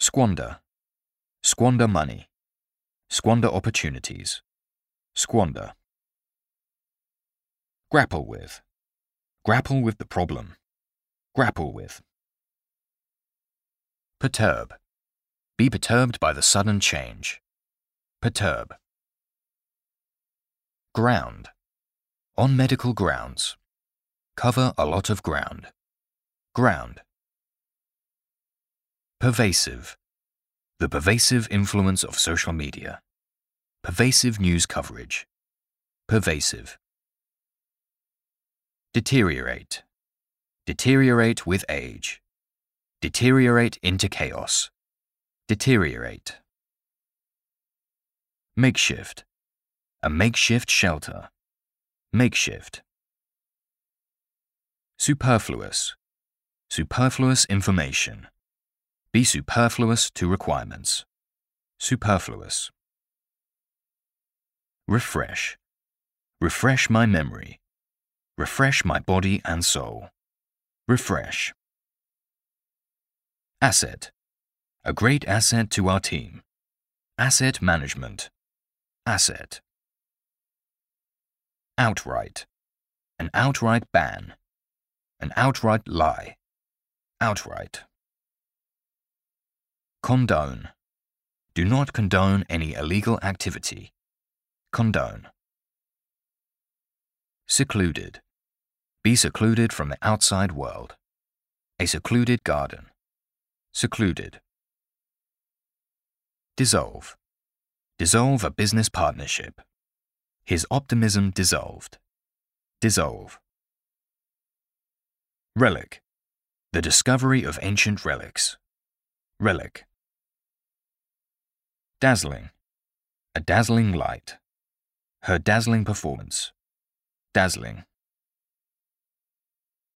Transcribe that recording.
Squander. Squander money. Squander opportunities. Squander. Grapple with. Grapple with the problem. Grapple with. Perturb. Be perturbed by the sudden change. Perturb. Ground. On medical grounds. Cover a lot of ground. Ground. Pervasive. The pervasive influence of social media. Pervasive news coverage. Pervasive. Deteriorate. Deteriorate with age. Deteriorate into chaos. Deteriorate. Makeshift. A makeshift shelter. Makeshift. Superfluous. Superfluous information. Be superfluous to requirements. Superfluous. Refresh. Refresh my memory. Refresh my body and soul. Refresh. Asset. A great asset to our team. Asset management. Asset. Outright. An outright ban. An outright lie. Outright. Condone. Do not condone any illegal activity. Condone. Secluded. Be secluded from the outside world. A secluded garden. Secluded. Dissolve. Dissolve a business partnership. His optimism dissolved. Dissolve. Relic. The discovery of ancient relics. Relic. Dazzling. A dazzling light. Her dazzling performance. Dazzling.